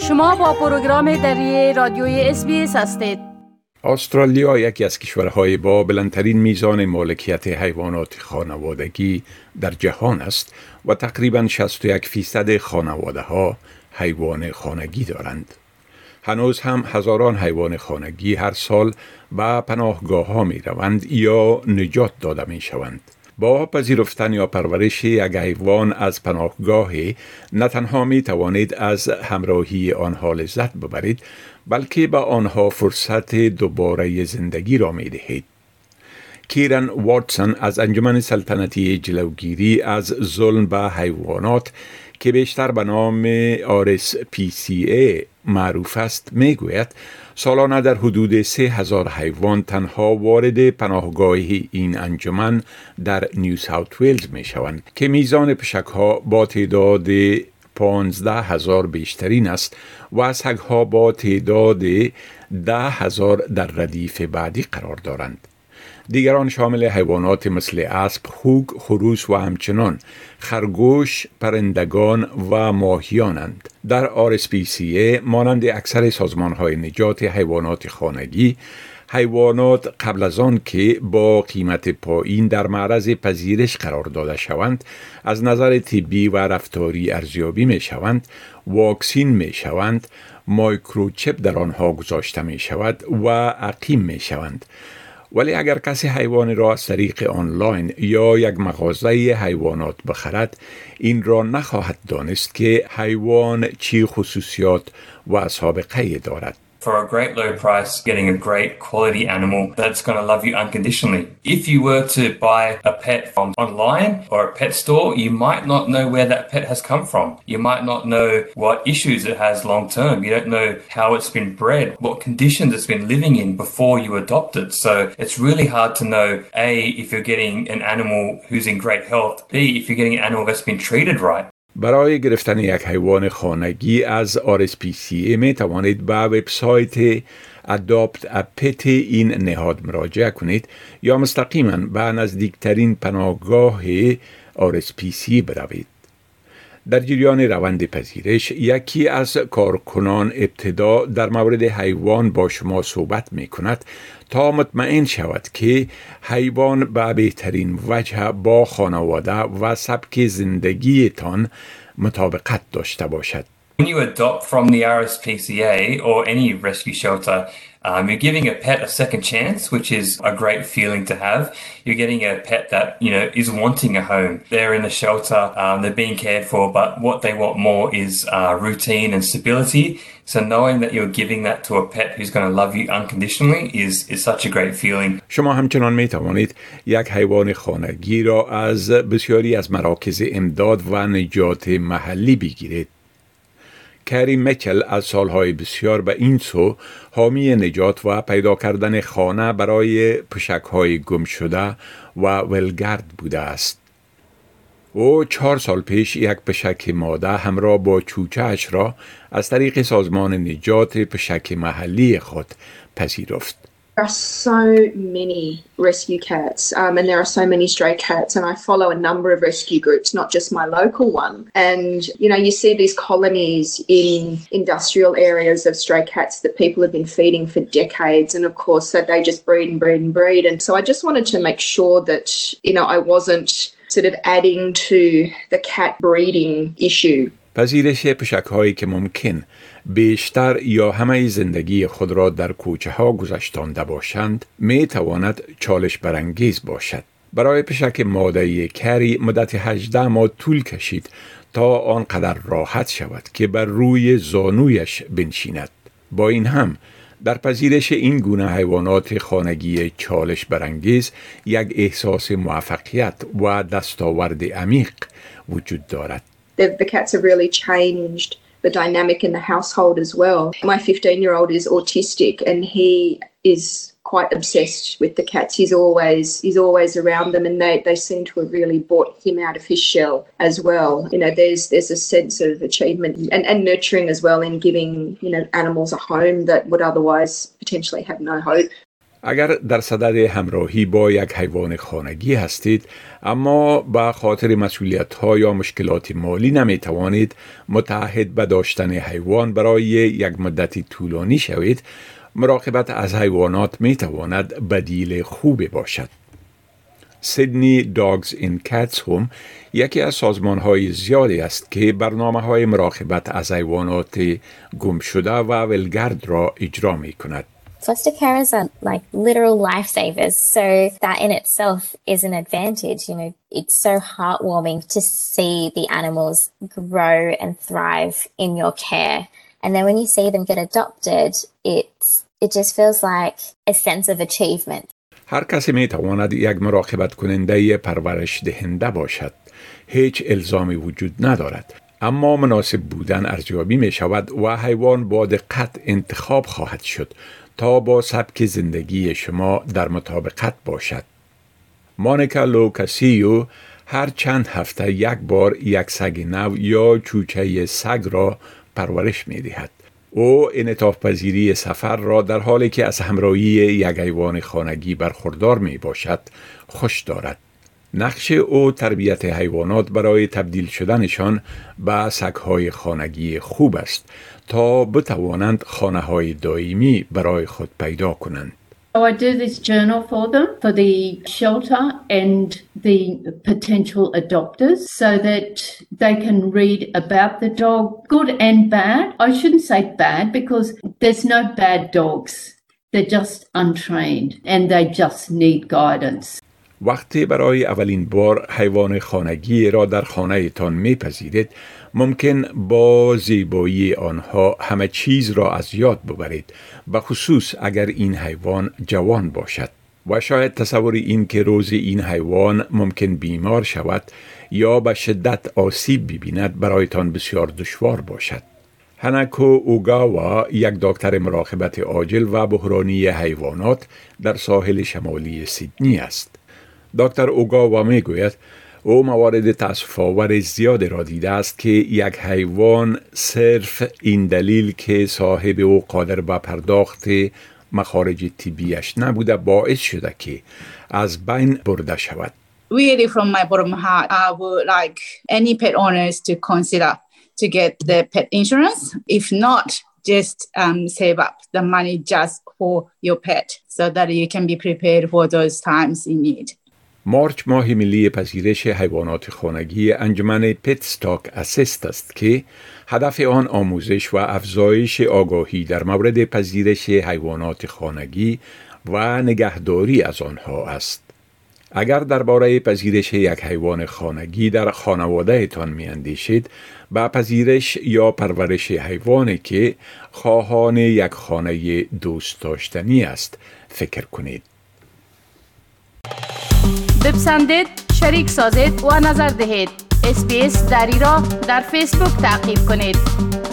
شما با پروگرام دری رادیوی SBS هستید. استرالیا یکی از کشورهای با بلندترین میزان مالکیت حیوانات خانوادگی در جهان است و تقریباً 61% خانواده‌ها حیوان خانگی دارند. هنوز هم هزاران حیوان خانگی هر سال به پناهگاه‌ها می روند یا نجات داده می شوند. با پذیرفتن یا پرورش یک حیوان از پناهگاهی نه تنها می توانید از همراهی آنها لذت ببرید، بلکه به آنها فرصت دوباره زندگی را می دهید. کیرن واتسون از انجمن سلطنتی جلوگیری از ظلم به حیوانات که بیشتر به نام RSPCA معروف است می گوید سالانه در حدود 3,000 حیوان تنها وارد پناهگاه این انجمن در نیو ساوت ویلز می شوند که میزان پشک‌ها با تعداد 15,000 بیشترین است و سگ‌ها با تعداد 10,000 در ردیف بعدی قرار دارند. دیگران شامل حیوانات مثل اسب، خوک، خروس و همچنان خرگوش، پرندگان و ماهیانند. در RSPCA مانند اکثر سازمان‌های نجات حیوانات خانگی، حیوانات قبل از آن که با قیمت پایین در معرض پذیرش قرار داده شوند، از نظر طبی و رفتاری ارزیابی می شوند، واکسین می شوند، مایکروچپ در آنها گذاشته می شود و عقیم می شوند. ولی اگر کسی حیوان را از طریق آنلاین یا یک مغازه حیوانات بخرد، این را نخواهد دانست که حیوان چی خصوصیات و سابقه دارد. For a great low price, getting a great quality animal that's going to love you unconditionally. If you were to buy a pet from online or a pet store, you might not know where that pet has come from. You might not know what issues it has long term. You don't know how it's been bred, what conditions it's been living in before you adopt it. So it's really hard to know, A, if you're getting an animal who's in great health, B, if you're getting an animal that's been treated right. برای گرفتن یک حیوان خانگی از RSPCA می توانید به وبسایت Adopt a Pet این نهاد مراجعه کنید یا مستقیما به نزدیکترین پناهگاه RSPCA بروید. در جریان روند پذیرش یکی از کارکنان ابتدا در مورد حیوان با شما صحبت می کند تا مطمئن شود که حیوان به بهترین وجه با خانواده و سبک زندگیتان مطابقت داشته باشد. When you adopt from the RSPCA or any rescue shelter, you're giving a pet a second chance, which is a great feeling to have. You're getting a pet that, is wanting a home. They're in the shelter, they're being cared for, but what they want more is routine and stability. So knowing that you're giving that to a pet who's going to love you unconditionally is such a great feeling. شما همچنان می توانید یک حیوان خانگی را از بسیاری از مراکز امداد و نجات محلی بگیرید. کری میچل از سالهای بسیار به این سو حامی نجات و پیدا کردن خانه برای پشک‌های گم شده و ولگرد بوده است. او 4 سال پیش یک پشک ماده همراه با چوچه‌اش را از طریق سازمان نجات پشک محلی خود پذیرفت. There are so many rescue cats and there are so many stray cats, and I follow a number of rescue groups, not just my local one. And, you see these colonies in industrial areas of stray cats that people have been feeding for decades, and of course so they just breed and breed and breed. And so I just wanted to make sure that, I wasn't sort of adding to the cat breeding issue. پذیرش پشک‌هایی که ممکن بیشتر یا همه زندگی خود را در کوچه‌ها گذشتانده باشند می تواند چالش برانگیز باشد. برای پشک ماده‌ای کری مدت 18 ماه طول کشید تا آنقدر راحت شود که بر روی زانویش بنشیند. با این هم در پذیرش این گونه حیوانات خانگی چالش برانگیز یک احساس موفقیت و دستاورد عمیق وجود دارد. The cats have really changed the dynamic in the household as well. My 15-year-old is autistic and he is quite obsessed with the cats. He's always around them, and they seem to have really brought him out of his shell as well. There's a sense of achievement and nurturing as well in giving, animals a home that would otherwise potentially have no hope. اگر در صدد همراهی با یک حیوان خانگی هستید اما به خاطر مسئولیت‌ها یا مشکلات مالی نمی توانید متعهد به داشتن حیوان برای یک مدت طولانی شوید، مراقبت از حیوانات می تواند بدیل خوبی باشد. سیدنی داگز این کتس هم یکی از سازمان‌های زیادی است که برنامه‌های مراقبت از حیوانات گم شده و ولگرد را اجرا می کند. Foster carers are like literal lifesavers, so that in itself is an advantage. You know, it's so heartwarming to see the animals grow and thrive in your care. And then when you see them get adopted, it just feels like a sense of achievement. هر کسی می تواند یک مراقبت کننده پرورش دهنده باشد. هیچ الزامی وجود ندارد. اما مناسب بودن ارزیابی می شود و حیوان با دقت انتخاب خواهد شد تا با سبک زندگی شما در مطابقت باشد. مانیکا لوکاسیو هر چند هفته یک بار یک سگ نو یا چوچه سگ را پرورش می دهد. او انعطاف پذیری سفر را در حالی که از همراهی یک حیوان خانگی برخوردار می باشد خوش دارد. نقش او تربیت حیوانات برای تبدیل شدنشان به سگ‌های خانگی خوب است تا بتوانند خانه‌های دائمی برای خود پیدا کنند. So I do this journal for them, for the shelter and the potential adopters, so that they can read about the dog, good and bad. I shouldn't say bad because there's no bad dogs. They're just untrained and they just need guidance. وقتی برای اولین بار حیوان خانگی را در خانه تان میپذیرید، ممکن با زیبایی آنها همه چیز را از یاد ببرید، به خصوص اگر این حیوان جوان باشد. و شاید تصور این که روز این حیوان ممکن بیمار شود یا به شدت آسیب ببیند برایتان بسیار دشوار باشد. هاناکو اوگاوا یک دکتر مراقبت عاجل و بحرانی حیوانات در ساحل شمالی سیدنی است. دکتر اوگاوا می گوید او موارد تأسف‌آور زیادی را دیده است که یک حیوان صرف این دلیل که صاحب او قادر به پرداخت مخارج طبیش نبوده باعث شده که از بین برده شود. Really from my bottom of my heart, I would like any pet owners to consider to get the pet insurance. If not, just save up the money just for your pet so that you can be prepared for those times in need. مارچ ماه ملی پذیرش حیوانات خانگی انجمن پت استاک اسیست است که هدف آن آموزش و افزایش آگاهی در مورد پذیرش حیوانات خانگی و نگهداری از آنها است. اگر درباره پذیرش یک حیوان خانگی در خانواده تان می اندیشید، با پذیرش یا پرورش حیوانی که خواهان یک خانه دوست داشتنی است فکر کنید. بپسندید، شریک سازید و نظر دهید. SBS دری را در فیسبوک تعقیب کنید.